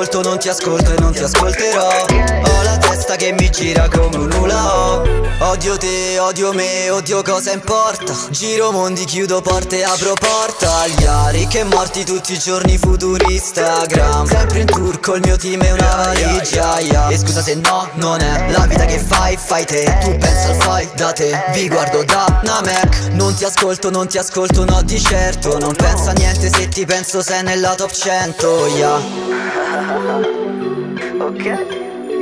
ascolto, non ti ascolto e non ti ascolterò. Ho la testa che mi gira come un hula hoop. Odio te, odio me, odio cosa importa. Giro mondi, chiudo porte, apro porta agli ricchi e morti tutti i giorni, futuri Instagram. Sempre in tour col mio team e una valigia, yeah. E scusa se no, non è la vita che fai, fai te. Tu pensa al fai da te, vi guardo da una Mac. Non ti ascolto, non ti ascolto, no di certo. Non pensa a niente, se ti penso sei nella top 100, yeah. Ok.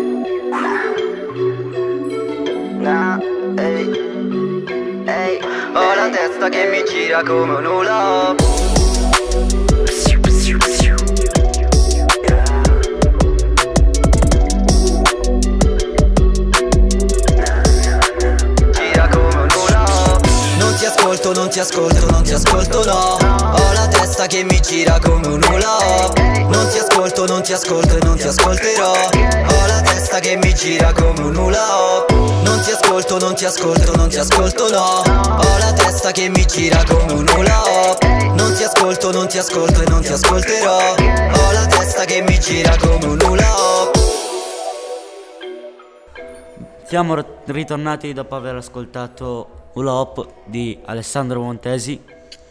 Nah, ehi, ehi. Ho la testa che mi gira come un hula hoop. Non ti ascolto, non ti ascolto, no. Ho la testa che mi gira come un hula hoop. Non ti ascolto, non ti ascolto e non ti ascolterò. Ho la testa che mi gira come un hula hoop. Non ti ascolto, non ti ascolto, non ti ascolto, no. Ho la testa che mi gira come un hula hoop. Non ti ascolto, non ti ascolto e non ti ascolterò. Ho la testa che mi gira come un hula hoop. Siamo ritornati dopo aver ascoltato Hula Hoop di Alessandro Montesi.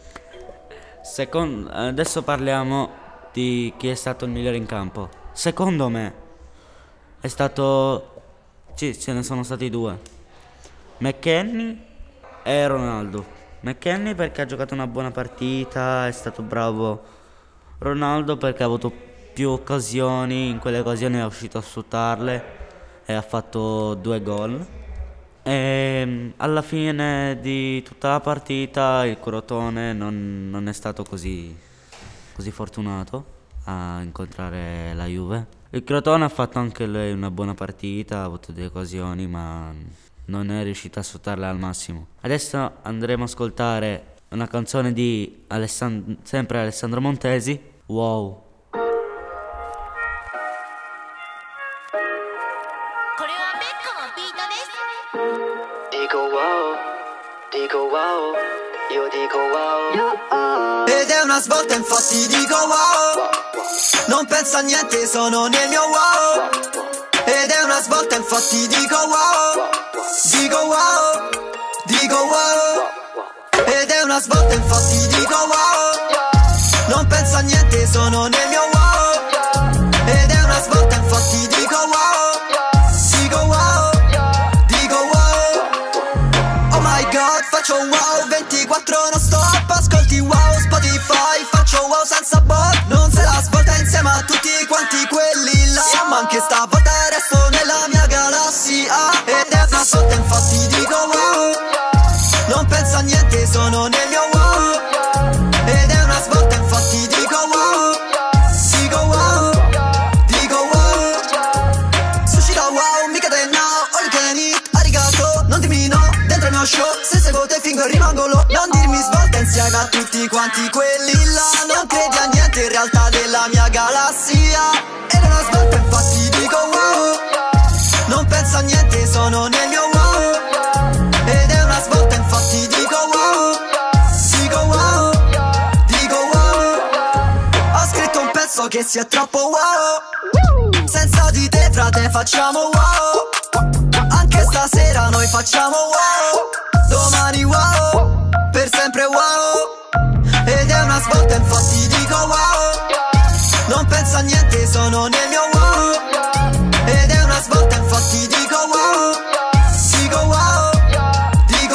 Adesso parliamo di chi è stato il migliore in campo. Secondo me è stato... Sì, ce ne sono stati due: McKennie e Ronaldo. McKennie perché ha giocato una buona partita, è stato bravo. Ronaldo perché ha avuto più occasioni, in quelle occasioni è uscito a sfruttarle e ha fatto 2 gol. E alla fine di tutta la partita il Crotone non è stato così fortunato a incontrare la Juve. Il Crotone ha fatto anche lui una buona partita, ha avuto 2 occasioni ma non è riuscito a sfruttarle al massimo. Adesso andremo a ascoltare una canzone di sempre Alessandro Montesi, Wow. Dico wow, io dico wow. Ed è una svolta infatti dico wow. Non penso a niente, sono nel mio wow. Ed è una svolta infatti dico wow. Dico wow, dico wow. Ed è una svolta infatti dico wow. Non penso a niente, sono nel mio wow. Ed è una svolta infatti dico wow. Dico wow, dico wow. Oh my god, faccio wow 24 non stop. Ascolti wow Spotify, faccio wow senza bot. Non se la svolta insieme a tutti quanti quelli là. Ma anche stavolta resto nella mia galassia. Ed è una svolta infatti dico wow. Non penso a niente, sono nel mio wow. Ed è una svolta infatti dico wow. Dico wow, dico wow. Sushi da wow, mica del now, all you can eat, arigato. Non dirmi no, dentro il mio show. Se seguo te fingo e rimango low. Non dirmi svolta insieme a tutti quanti quelli là. Non credi a niente in realtà della mia galassia. Ed è una svolta infatti dico wow. Non penso a niente, sono nel mio wow. Ed è una svolta infatti dico wow. Dico wow, dico wow. Ho scritto un pezzo che sia troppo wow. Senza di te frate facciamo wow. Anche stasera noi facciamo wow. Domani wow, per sempre wow. Ed è una svolta infatti dico wow. Non penso a niente, sono nel mio wow. Ed è una svolta infatti dico wow. Dico wow, dico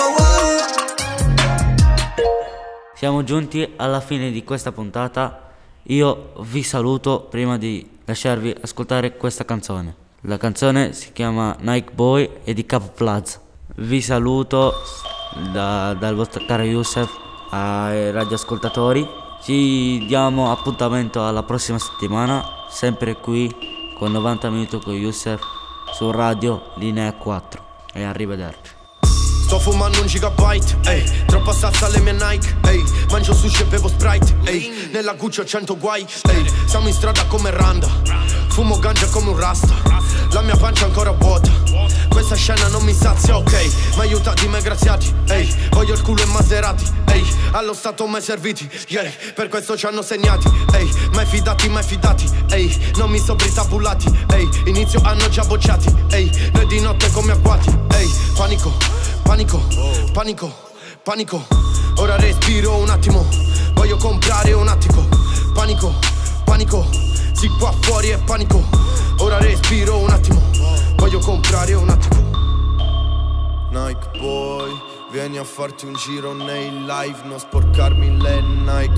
wow. Siamo giunti alla fine di questa puntata. Io vi saluto prima di lasciarvi ascoltare questa canzone. La canzone si chiama Nike Boy e di Capo Plaza. Vi saluto dal vostro caro Youssef ai radioascoltatori. Ci diamo appuntamento alla prossima settimana, sempre qui con 90 minuti con Youssef su Radio Linea 4. E arrivederci. Sto fumando un gigabyte, ehi, troppa salsa alle mie Nike, ehi, mangio sushi e bevo Sprite, ehi, nella Gucci ho 100 guai, ehi, siamo in strada come Randa, fumo ganja come un rasta, la mia pancia ancora vuota. Questa scena non mi sazia, ok, ma aiutati, mai graziati, ehi. Voglio il culo e Maserati, ehi. Allo stato mai serviti, yeah. Per questo ci hanno segnati, ehi. Mai fidati, ehi. Non mi sopri tabulati, ehi. Inizio hanno già bocciati, ehi. Noi di notte come agguati, ehi. Panico, panico, panico, panico. Ora respiro un attimo, voglio comprare un attico. Panico, panico, sì qua fuori è panico. Ora respiro un attimo, voglio comprare un attico. Nike boy, vieni a farti un giro nei live, non sporcarmi le Nike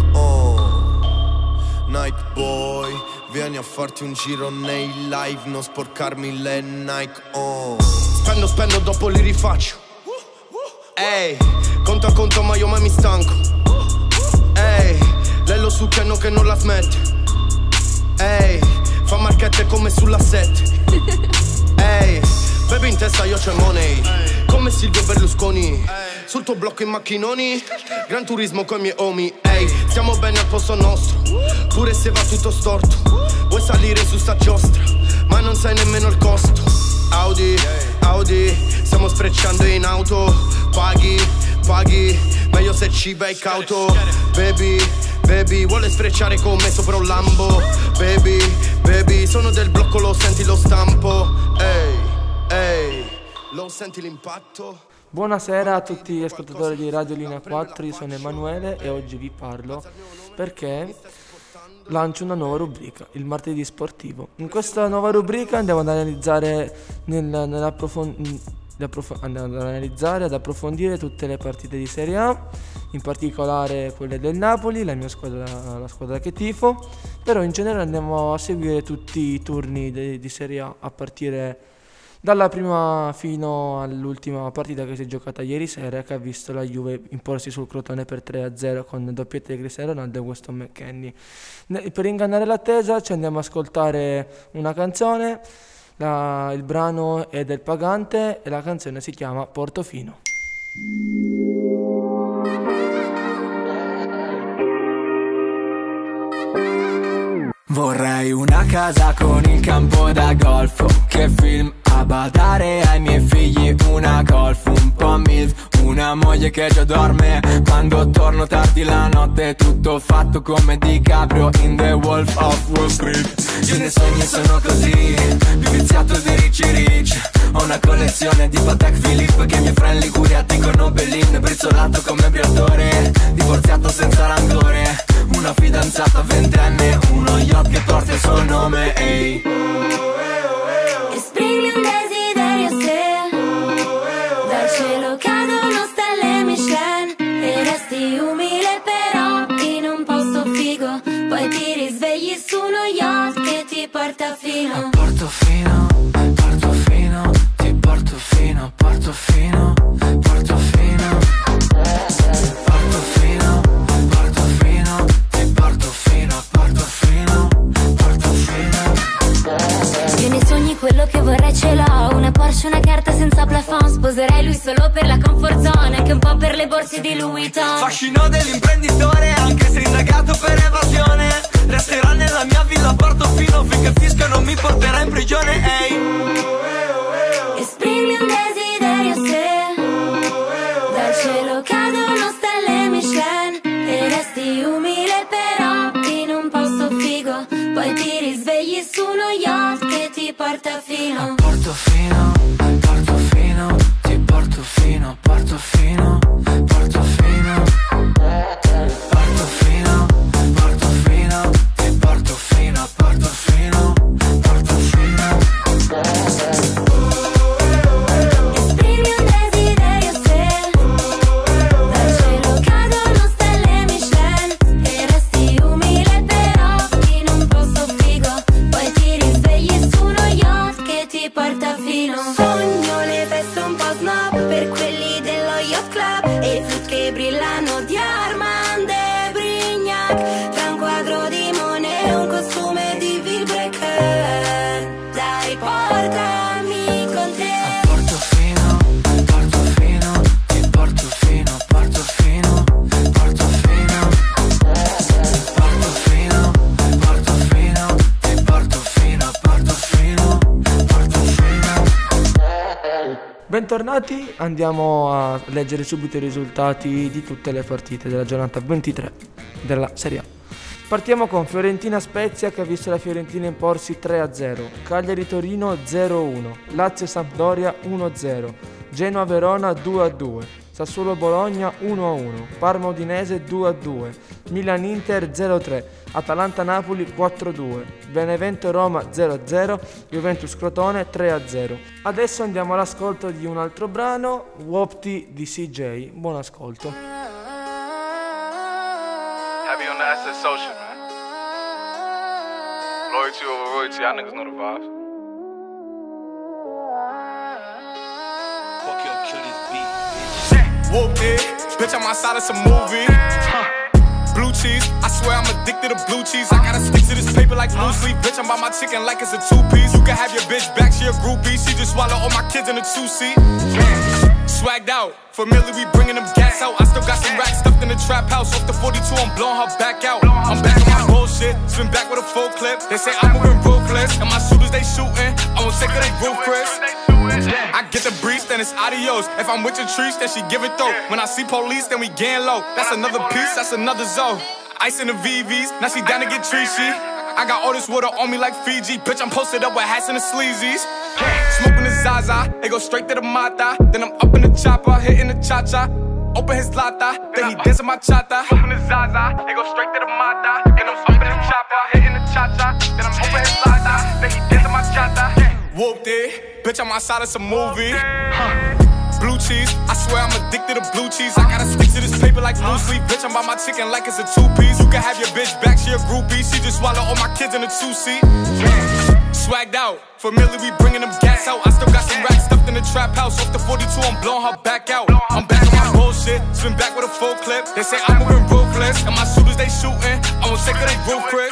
Nike boy, vieni a farti un giro nei live, non sporcarmi le Nike Spendo, dopo li rifaccio. Ehi, conto a conto ma io mai mi stanco. Ehi, lei lo succhiano che non la smette. Ehi, fa marchette come sulla 7. Ehi, baby in testa io c'ho money, come Silvio Berlusconi. Sul tuo blocco in macchinoni, Gran Turismo coi miei homie. Ehi, stiamo bene al posto nostro, pure se va tutto storto. Vuoi salire su sta giostra, ma non sai nemmeno il costo. Audi, Audi, stiamo sfrecciando in auto. Paghi, meglio se ci vai cauto. Baby, vuole sfrecciare con me sopra un Lambo. Baby, sono del blocco, lo senti lo stampo. Ehi, lo senti l'impatto? Buonasera a tutti gli ascoltatori di Radio Linea 4, io sono Emanuele e oggi vi parlo perché lancio una nuova rubrica, il martedì sportivo. In questa nuova rubrica andiamo ad analizzare ad approfondire tutte le partite di Serie A, in particolare quelle del Napoli, la squadra che tifo, però in generale andiamo a seguire tutti i turni di Serie A a partire dalla prima fino all'ultima partita che si è giocata ieri sera, che ha visto la Juve imporsi sul Crotone per 3-0 con doppietta di Cristiano Ronaldo e Weston McKennie. Per ingannare l'attesa ci andiamo ad ascoltare una canzone, il brano è del Pagante e la canzone si chiama Portofino. Vorrei una casa con il campo da golf, che film a badare ai miei figli, una golf, un po' milf, una moglie che già dorme quando torno tardi la notte, tutto fatto come DiCaprio in The Wolf of Wall Street. Io nei sogni sono così, più viziato di Rich. Ho una collezione di Patek Philippe che i miei friend Liguria dicono Bellin, brizzolato come Briatore, divorziato senza rancore, una fidanzata ventenne, uno yacht che porta il suo nome, ehi. Esprimi un desiderio se dal cielo cadono stelle Michelin e resti umile però in un posto figo, poi ti risvegli su uno yacht che ti porta fino a Portofino, Portofino, ti porto fino, Portofino, Portofino, Portofino, Portofino, ti porto fino a Portofino, Portofino. Io nei sogni quello che vorrei ce l'ho, una Porsche, una carta senza plafond, sposerei lui solo per la comfort zone, anche un po' per le borse di Louis Vuitton. Fascino dell'imprenditore, anche se indagato per evasione, resterà nella mia villa a Portofino finché il fisco non mi porterà in prigione, ehi. Esprimi un desiderio se dal cielo cadono stelle Michelin e resti umile però in un posto figo, poi ti risvegli su uno yacht che ti porta fino a Portofino, Portofino, ti porto fino a Portofino, Portofino, Portofino, Portofino, ti porto fino a Portofino, Portofino. Esprimi un desiderio se dal cielo cadono stelle Michelin e resti umile però in un posto figo, poi ti risvegli su uno yacht che ti porta fino. Sogno le feste un po' snob per quelli dello yacht club, Bentornati, andiamo a leggere subito i risultati di tutte le partite della giornata 23 della Serie A. Partiamo con Fiorentina-Spezia, che ha visto la Fiorentina imporsi 3-0, Cagliari-Torino 0-1, Lazio-Sampdoria 1-0, Genoa-Verona 2-2, Sassuolo-Bologna 1-1, Parma-Udinese 2-2, Milan-Inter 0-3, Atalanta-Napoli 4-2, Benevento-Roma 0-0, Juventus-Crotone 3-0. Adesso andiamo all'ascolto di un altro brano, Wopti di CJ. Buon ascolto. Happy on the SS social, man. Loyalty over royalty, y'all niggas know the vibes. Fuck your kill this beat. Whooped it, bitch, I'm outside of some movie. Blue cheese, I swear I'm addicted to blue cheese. I gotta stick to this paper like blue sleep. Bitch, I'm by my chicken like it's a two-piece. You can have your bitch back, she a groupie. She just swallow all my kids in a two-seat. Swagged out, familiar, we bringing them gas out. I still got some racks stuffed in the trap house. Off the 42, I'm blowing her back out. I'm back on my bullshit, spin back with a full clip. They say I'm moving ruthless, and my shooters they shooting. I won't take of they roof, Chris. I get the breeze, then it's adios. If I'm with your trees, then she give it though. When I see police, then we gang low. That's another piece, that's another zone. Ice in the VVs, now she down to get treachy. I got all this water on me like Fiji. Bitch, I'm posted up with hats and the sleazies. Smoking the Zaza, it go straight to the Mata. Then I'm up in the chopper, hitting the cha-cha. Open his lata, then he dancing my chata. Smoking the Zaza, it go straight to the Mata. Then I'm up in the chopper, hitting the cha-cha. Then I'm open his lata, then he dancing my chata. Whooped it, bitch, I'm outside of some movie. Blue cheese, I swear I'm addicted to blue cheese. I gotta stick to this paper like blue sleep. Bitch, I'm by my chicken like it's a two-piece. You can have your bitch back, she a groupie. She just swallow all my kids in a two-seat. Swagged out, familiar, we bringing them gas out. I still got some racks stuffed in the trap house. Off the 42, I'm blowing her back out. I'm back on my bullshit, spin back with a full clip. They say I'm moving ruthless, and my shooters they shooting. I won't take of they roof, Chris.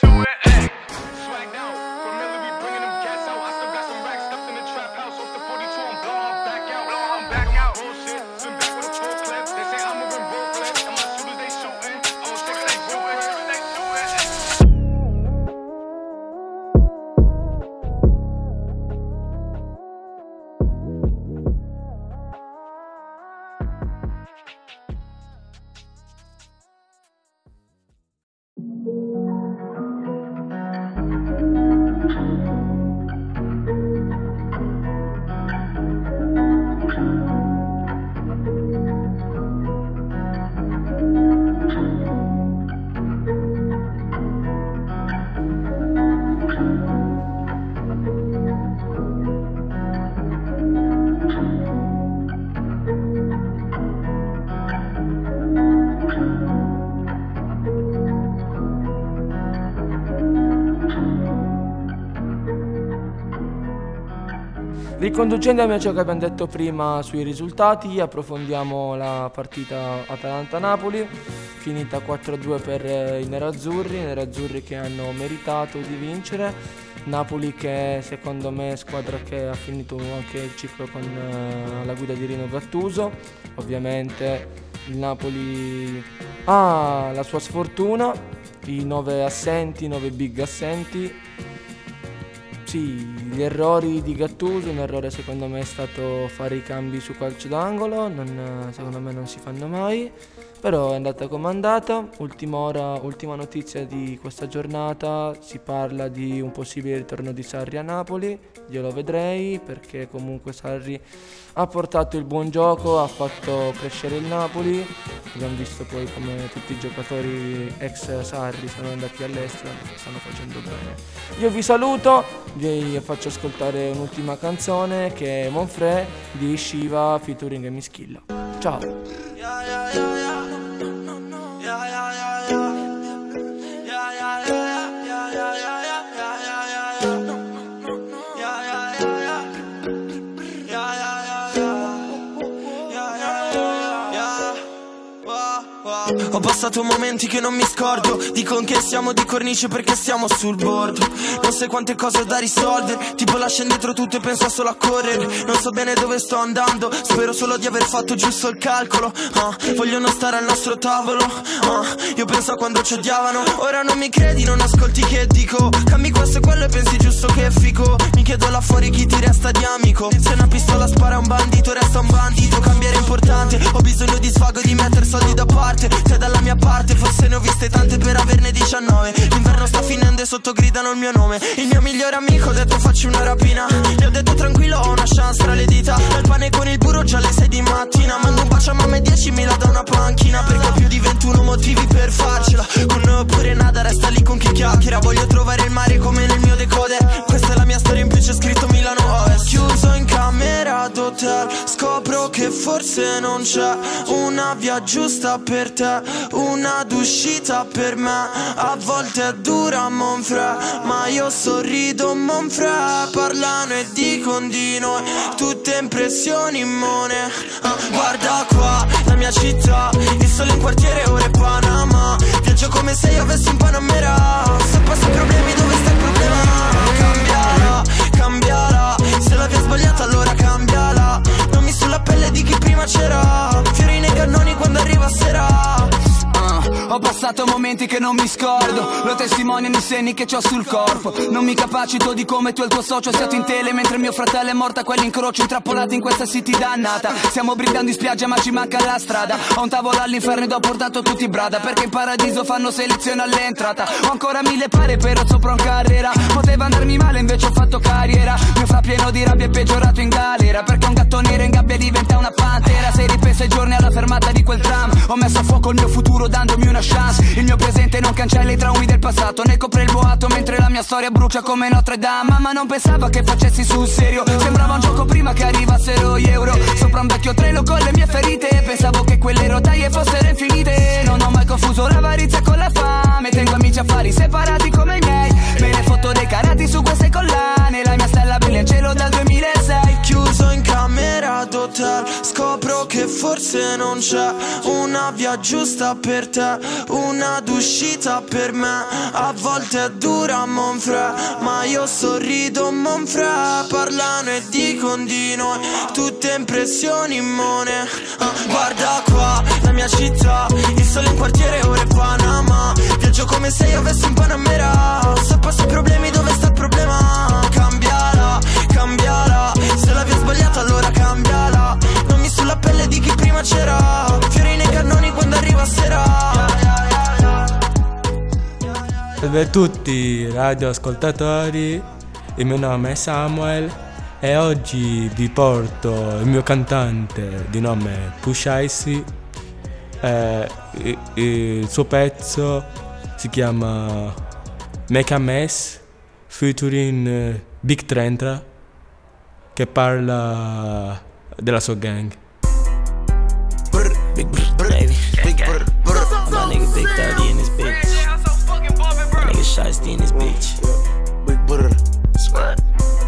Riconducendomi a ciò che abbiamo detto prima sui risultati, approfondiamo la partita Atalanta-Napoli, finita 4-2 per i nerazzurri che hanno meritato di vincere. Napoli che secondo me è squadra che ha finito anche il ciclo con la guida di Rino Gattuso. Ovviamente il Napoli ha la sua sfortuna, i 9 big assenti. Sì, gli errori di Gattuso, un errore secondo me è stato fare i cambi su calcio d'angolo, secondo me non si fanno mai, però è andata come è andata. Ultima notizia di questa giornata, si parla di un possibile ritorno di Sarri a Napoli. Io lo vedrei, perché comunque Sarri ha portato il buon gioco, ha fatto crescere il Napoli. Abbiamo visto poi come tutti i giocatori ex Sarri sono andati all'estero e stanno facendo bene. Io vi saluto, vi faccio ascoltare un'ultima canzone che è Monfrè di Shiva featuring Mischilla. Ciao! Ho passato momenti che non mi scordo. Dicono che siamo di cornice perché siamo sul bordo. Non sai quante cose ho da risolvere. Tipo lascio indietro tutto e penso solo a correre. Non so bene dove sto andando. Spero solo di aver fatto giusto il calcolo. Vogliono stare al nostro tavolo. Io penso a quando ci odiavano. Ora non mi credi, non ascolti che dico. Cambi questo e quello e pensi giusto che è fico. Mi chiedo là fuori chi ti resta di amico. Se una pistola spara a un bandito resta un bandito. Cambiare è importante. Ho bisogno di svago e di mettere soldi da parte. Te dalla mia parte, forse ne ho viste tante per averne 19. L'inverno sta finendo e sotto gridano il mio nome. Il mio migliore amico ha detto facci una rapina. Gli ho detto tranquillo, ho una chance tra le dita. Il pane con il burro già alle 6 di mattina. Mando un bacio a mamma e 10.000 da una panchina. Perché ho più di 21 motivi per farcela. Con noi oppure nada, resta lì con chi chiacchiera. Voglio trovare il mare come nel mio decoder. Questa è la mia storia, in più c'è scritto Milano Ovest. Chiuso in camera d'hotel, scopro che forse non c'è una via giusta per te, una d'uscita per me. A volte è dura Monfrè, ma io sorrido Monfrè. Parlano e dicono di noi tutte impressioni immune. Guarda qua, la mia città, il sole in quartiere, ora è Panama. Viaggio come se io avessi un Panamera. Se passi problemi, dove sta il problema? Cambiala, cambiala. Se la via è sbagliata allora cambiala. Non mi sulla pelle di chi prima c'era. Fiori nei cannoni quando arriva sera. Ho passato momenti che non mi scordo. Lo testimoniano i segni che c'ho sul corpo. Non mi capacito di come tu e il tuo socio siate in tele mentre mio fratello è morto a quell'incrocio, intrappolati in questa city dannata. Stiamo brindando in spiaggia ma ci manca la strada. Ho un tavolo all'inferno ed ho portato tutti i brada, perché in paradiso fanno selezione all'entrata. Ho ancora 1000 pare però sopra un carriera. Poteva andarmi male invece ho fatto carriera. Mio fra pieno di rabbia è peggiorato in galera, perché un gatto nero in gabbia diventa una pantera. Sei ripensa ai giorni alla fermata di quel tram. Ho messo a fuoco il mio futuro dandomi una chance. Il mio presente non cancella i traumi del passato, ne copre il boato mentre la mia storia brucia come Notre Dame. Mamma non pensava che facessi sul serio, sembrava un gioco prima che arrivassero gli euro. Sopra un vecchio treno con le mie ferite, pensavo che quelle rotaie fossero infinite. Non ho mai confuso l'avarizia con la fame, tengo amici affari separati come i miei. Me ne fotto dei carati su queste collane, la mia stella brilla in cielo dal 2006. Chiuso in camera d'hotel, scopro che forse non c'è una via giusta per te, una d'uscita per me. A volte è dura Monfrè, ma io sorrido Monfrè. Parlano e dicono di noi tutte impressioni immune. Guarda qua, la mia città, il sole in quartiere, ora è Panama. Viaggio come se io avessi un Panamera. Se passi problemi, dove sta il problema? Cambiala, cambiala. Se la via è sbagliata allora cambiala. Non mi sulla pelle di chi prima c'era. Fiori nei cannoni quando arriva sera. Salve a tutti radioascoltatori, il mio nome è Samuel e oggi vi porto il mio cantante di nome Push Icy. Il suo pezzo si chiama Make a Mess featuring Big Trentra, che parla della sua gang. Big baby, big my nigga Big 30 in this bitch. My nigga Shiesty in this bitch. Big sweat.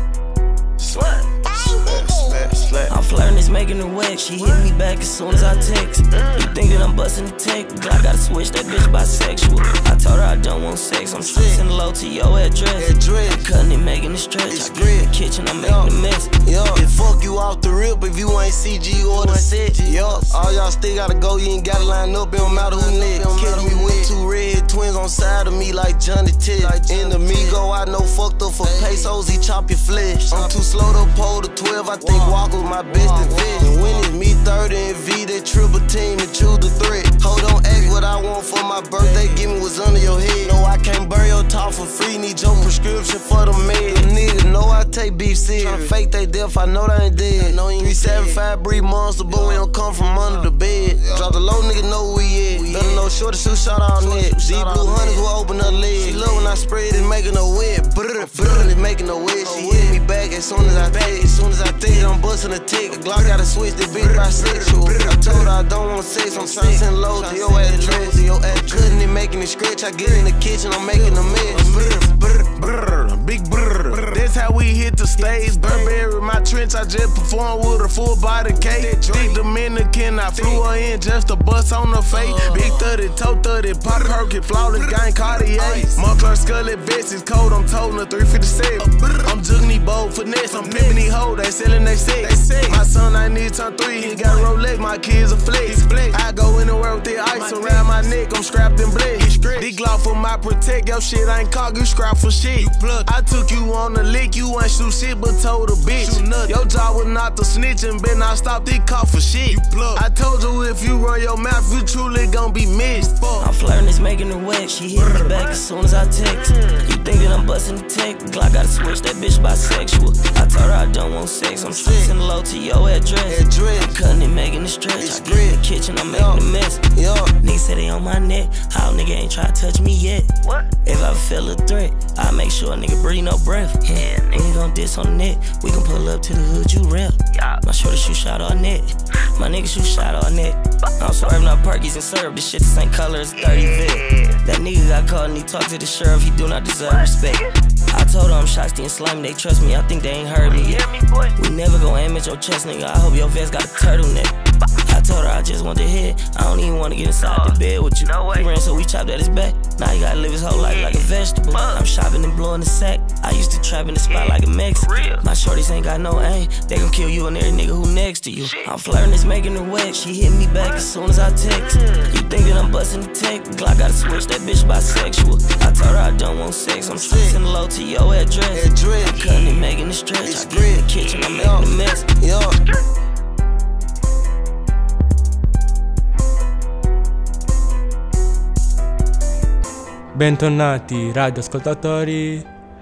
I'm flirting, it's making her wet. She hit me back as soon as I text. You think that I'm busting the tech, but I gotta switch that bitch bisexual. I told her I don't want sex, I'm stressing low to your address. I'm cutting it, making it stretch. I get in the kitchen, I'm making a mess. Yo, it fuck you off the rip if you ain't CG or the set. Yo, all y'all still gotta go, you ain't gotta line up, it don't matter who lit. Kill me with two red twins on side of me like Johnny Tip. In the Migo, I know fucked up for pesos, he chop your flesh. I'm too slow to pull the 12, I think Walker was my best event. And when it's me 30 and V, that triple team and choose the threat. Hold on, ask what I want for my birthday, give me what's under your head. No, I can't burn your talk for free, need your prescription for the med. Them niggas know I take beef serious. Tryna fake they death, I know they ain't dead. 375 breed monster, but we don't come from under the bed. Drop the low, nigga know who we at. Let them know shorty shoot shot all net. These blue hunters will open her leg. She love when I spread it, making her wet. Brrr, it making her wet. She hit me back as soon as I think. As soon as I think, I'm busting a tick. Glock gotta switch, this bitch bisexual. I told her I don't want sex, I'm trying to send low to your address. Cutting it, making it scratch. I get in the kitchen, I'm making a mess. Big brr, that's how we hit the stage. Burberry, my trench, I just performed with a full body cake. Thick Dominican, I flew her in just a bust on her face. Big 30, toe 30, pop Perky, flawless gang Cartier. Moncler Scully vest is cold, I'm toting her 357. I'm jugging these bold finesse, I'm pimping these hoes, they selling they sex. My son, I need to turn 3, he got Rolex, my kids a flex. I go anywhere with the ice around my neck, I'm strapped in bled. This Glock for my protect, your shit ain't caught, you scrap for shit. I took you on the lick, you ain't shoot shit, but told a bitch. Your job was not to snitch and better not stop this cop for shit. I told you if you run your mouth, you truly gon' be missed. I'm flirting, it's making it wet. She hit me back as soon as I text. You think that I'm busting the tech? Glock gotta switch, that bitch bisexual. I told her I don't want sex. I'm stressing low to your address. I'm cutting it, making it stretch. I get in the kitchen, I'm making a mess. Niggas say they on my neck. How nigga ain't try to touch me yet? If I feel a threat, I make sure a nigga breathe no breath. Yeah, nigga gon' diss on the net. We can pull up to the hood, you rep. My shorty shoot shot all net. My nigga shoot shot all net. I'm swerving up Perkies and syrup. This shit the same color as 30 Vic. That nigga got caught and he talked to the sheriff. He do not deserve respect. I told her I'm shotty and slimy. They trust me. I think they ain't heard me yet. We never gon' aim at your chest, nigga. I hope your vest got a turtleneck. I told her I just want to hit. I don't even want to get inside the bed with you. He ran so we chopped at his back. Now he gotta live his whole life like a vegetable. I'm shopping and blowing the sack. I used to trap in the spot like a Mexican. My shorties ain't got no aim. They gon' kill you and every nigga who next to you. I'm flirting, it's making it wet. She hit me back as soon as I text. You think that I'm busting the tech? Glock gotta switch, that bitch bisexual. I told her I don't want sex. I'm stressing low to your address. I'm cutting it, making it stretch. I get in the kitchen, I'm making a mess. Bentornati radioascoltatori,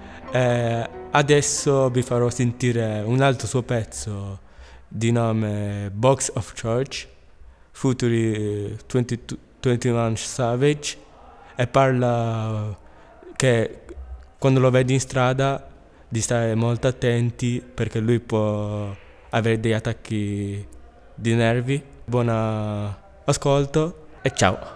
adesso vi farò sentire un altro suo pezzo di nome Box of Church, featuring 21 Savage, e parla che quando lo vedi in strada di stare molto attenti perché lui può avere degli attacchi di nervi. Buon ascolto e ciao.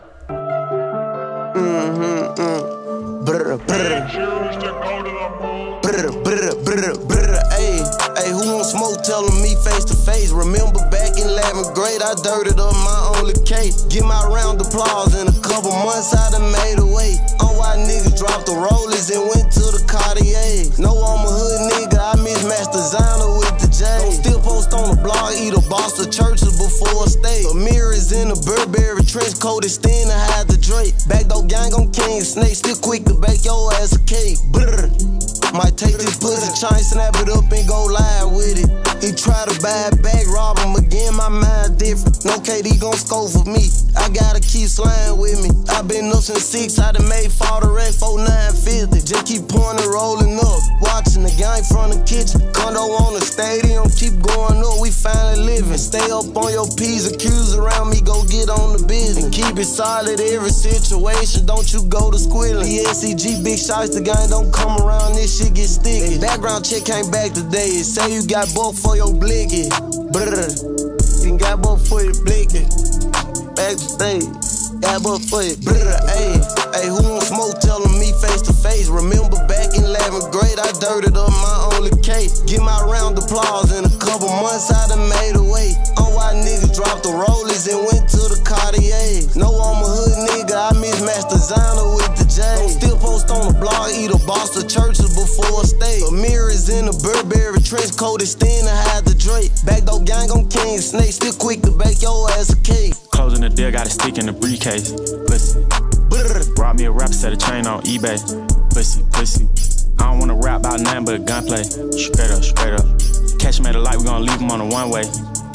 Hey, who wants smoke? Telling me face to face. Remember back in 11th grade, I dirted up my only case. Get my round of applause in a couple months, I done made a way. On why niggas dropped the rollers and went to the Cartier. No, I'm a hood nigga, I mismatched designer with the J. Don't still post on the blog, eat a boss of churches before a state. A mirrors in a Burberry trench coat, extend to hide the drape. Backdoor gang on King Snake, still quick to bake your ass a cake. Brr. Might take this pussy chain, snap it up and go live with it. He try to buy it back, rob him again, my mind different. No KD gon' score for me, I gotta keep sliding with me. I been up since 6, I done made 4 direct, 4950. Just keep pouring and rolling up, watching the gang from the kitchen. Condo on the stadium, keep going up, we finally living. Stay up on your P's and Q's around me, go get on the business. And keep it solid every situation, don't you go to squilling. The SCG big shots, the gang don't come around, this shit get sticky. Background check came back today, say you got both for your blicky. Brr, you got both for your blicky. Back to stage, got both for your brr. Hey, who wants smoke? Telling me face to face. Remember back in 11th grade, I dirted up my only case. Get my round of applause in a couple months, I done made a way. On why niggas dropped the rollers and went to the Cartier. No, I'm a hood nigga, I mismatched designer with the J. Don't still post on the blog, eat a boss of churches before a state. A mirrors in a Burberry trench coat, extend to hide the drape. Backdoor gang on King Snake, still quick to bake your ass a cake. Closing the deal, got a stick in the briefcase. Pussy. Brought me a rap, set a chain on eBay. Pussy. I don't wanna rap about nothing but gunplay. Straight up. Catch him at the light, we gon' leave him on the one way.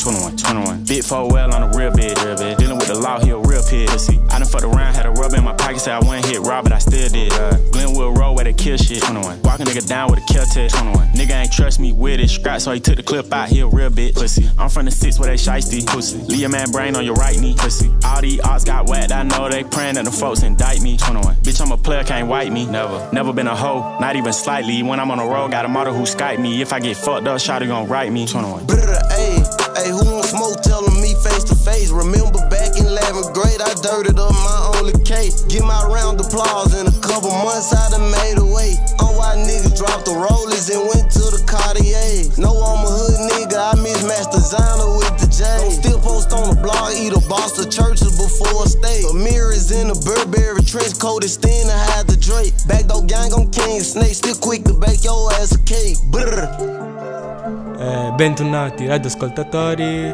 21. Big 4 well on the real bed. Dealing with the law, he a real pig. Pussy. I done fucked around, had a rub in my pocket, said I wouldn't hit Rob, but I still did. Glenwood Road where they kill shit. 21. Walk a nigga down with a kill test. 21. Nigga ain't trust me with it. Scrap, so he took the clip out, he a real bitch. Pussy. I'm from the 6 where they shiesty. Pussy. Leave your man brain on your right knee. Pussy. All these odds got whacked, I know they praying that the folks indict me. 21. Bitch, I'm a player, can't wipe me. Never been a hoe, not even slightly. When I'm on the road, got a model who Skype me. If I get fucked up, shawty gon' write me. 21. Hey, who wants smoke? Telling me face to face. Remember back in 11th grade, I dirted up my only case. Get my round of applause in a couple months, I done made a way. On why niggas dropped the rollers and went to the Cartier. No, I'm a hood nigga, block, eat a box of churches before a stay. A mirror is in a Burberry trench coat, it's thin to hide the drape. Backdoor gang on King Snake, still quick to bake your ass a cake. Bentornati radioascoltatori,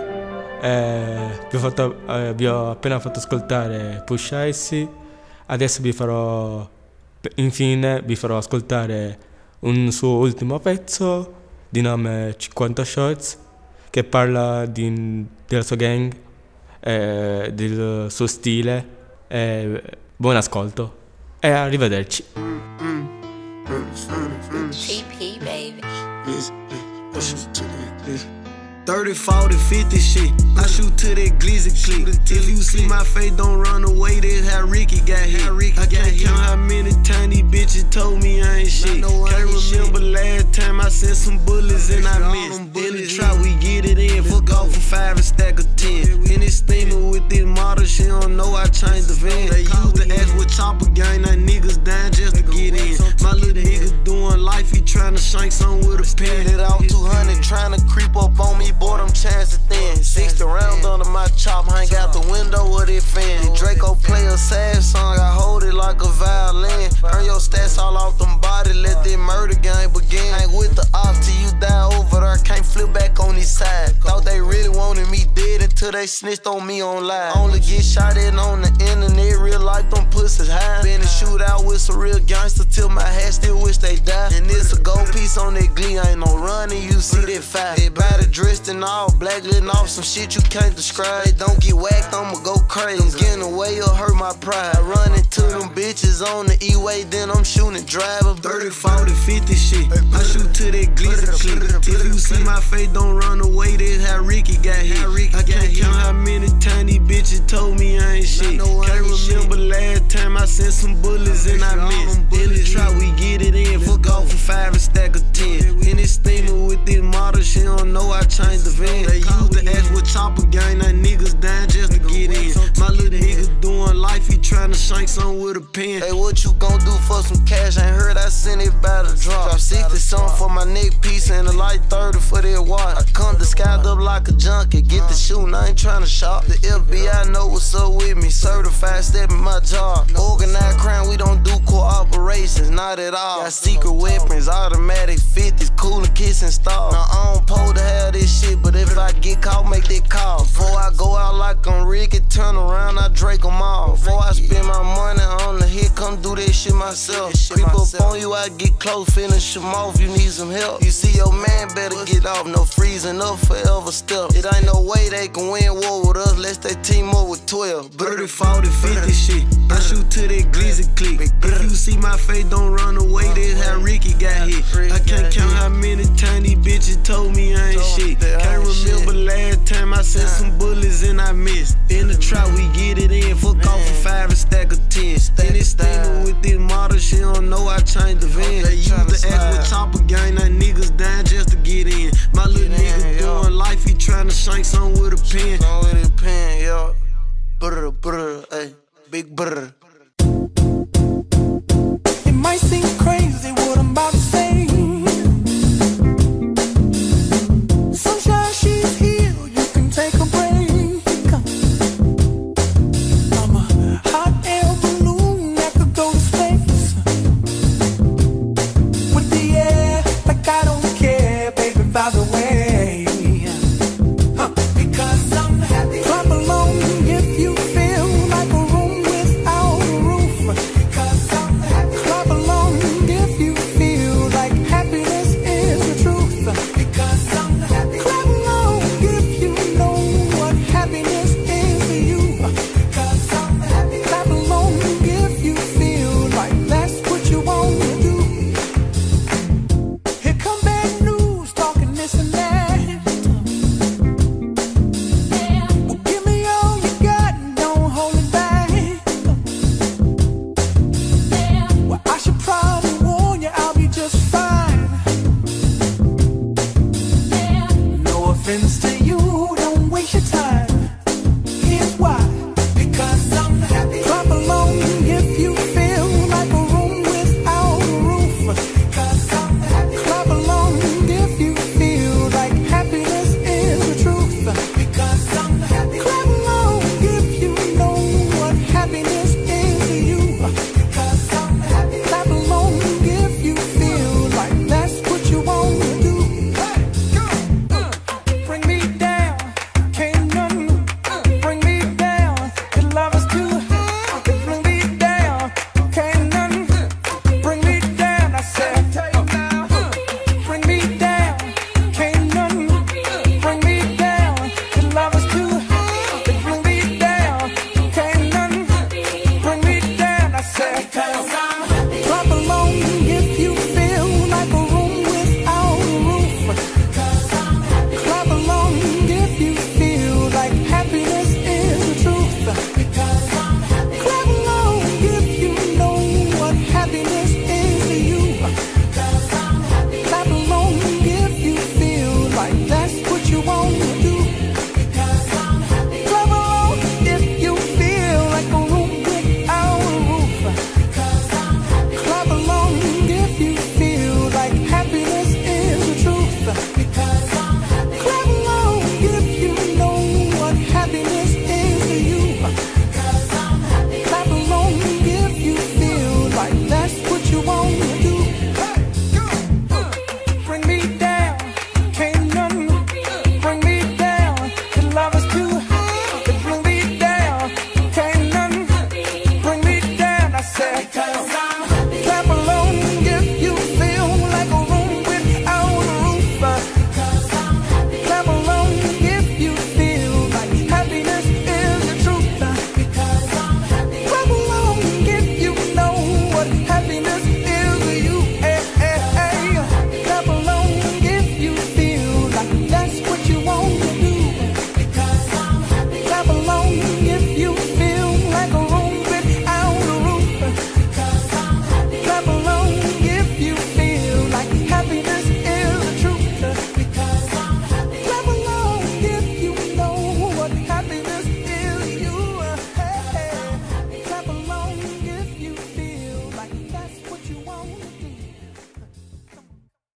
vi ho appena fatto ascoltare Push Icy. Adesso infine vi farò ascoltare un suo ultimo pezzo di nome 50 Shots, che parla della sua gang, del suo stile. Buon ascolto e arrivederci. TP baby. 30, 40, 50 shit. I shoot to that glizzy click. If you see my face, don't run away. That's how Ricky got hit. I can't count how many times these bitches told me I ain't shit. Can't remember last time I sent some bullets and I missed. In the trap, we get it in. Fuck off for 5 and stack of 10. In this steamer with this model, she don't know I changed the van. They used to ask what chopper gang, that niggas dying just to get in. My little nigga doing life, he tryna shank some with a pen. Hit out 200, tryna creep up on me. Boy, them chances thin. 60 round under my chop, hang out the window with it fan. The Draco play a sad song, I hold it like a violin. Earn your stats all off them body, let that murder game begin. Ain't with the ops till you die over there, can't flip back on this side. Thought they really wanted me dead until they snitched on me on live. Only get shot in on the internet, real life them pussies high. Been a shootout with some real gangsters till my hat still wish they died. And it's a gold piece on that glee, ain't no running, you see that fire. Everybody dressed in all black, letting off some shit you can't describe. They don't get whacked, I'ma go crazy. I'm getting away or hurt my pride. I run into them bitches on the E-way, then I'm shooting driving. 30, 40, 50 shit. I shoot to that glizzy clip. If you see my face, don't run away. That's how Ricky got hit. I can't count how many times these bitches told me I ain't shit. Can't remember last time I sent some bullets and I missed. In the trap, we get it in. Fuck off for 5 and stack of 10. In this steamer with this model, she don't know I changed the van. They used to ask what chopper gang, that niggas dying just to get in. My little nigga doing life, he tryna shank some with a pen. Hey, what you gon' do for some cash? Ain't heard I sent it by the drop. Drop 60 something for my neck piece and a light 30 for that watch. I come disguised up like a junkie, get the shooting, I ain't tryna shop. The FBI know what's up with me, certified step in my job. Organized crime, we don't do cooperations, not at all. Got secret weapons, automatic 50s, cooler kissing stars. Now I don't pole to have this shit, but if I get caught, make that call. Before I go out like I'm Ricky, turn around, I Drake them all. Before I spend my money on the hit, come do that shit myself. Creep up on you, I get close, finish them off, you need some help. You see your man better get off, no freezing up forever step. It ain't no way they can win war with us, let's they team up with 12. 30, 40, 50 shit. I shoot to that glizzy click. If you see my face, don't run away, that's how Ricky got hit. I can't count how many times these bitches told me I ain't shit. Can't remember last time I sent some bullets and I missed. In the trap, we get it in. Fuck off for 5 and stack of 10. In this steamer with this model, she don't know I changed the van. They used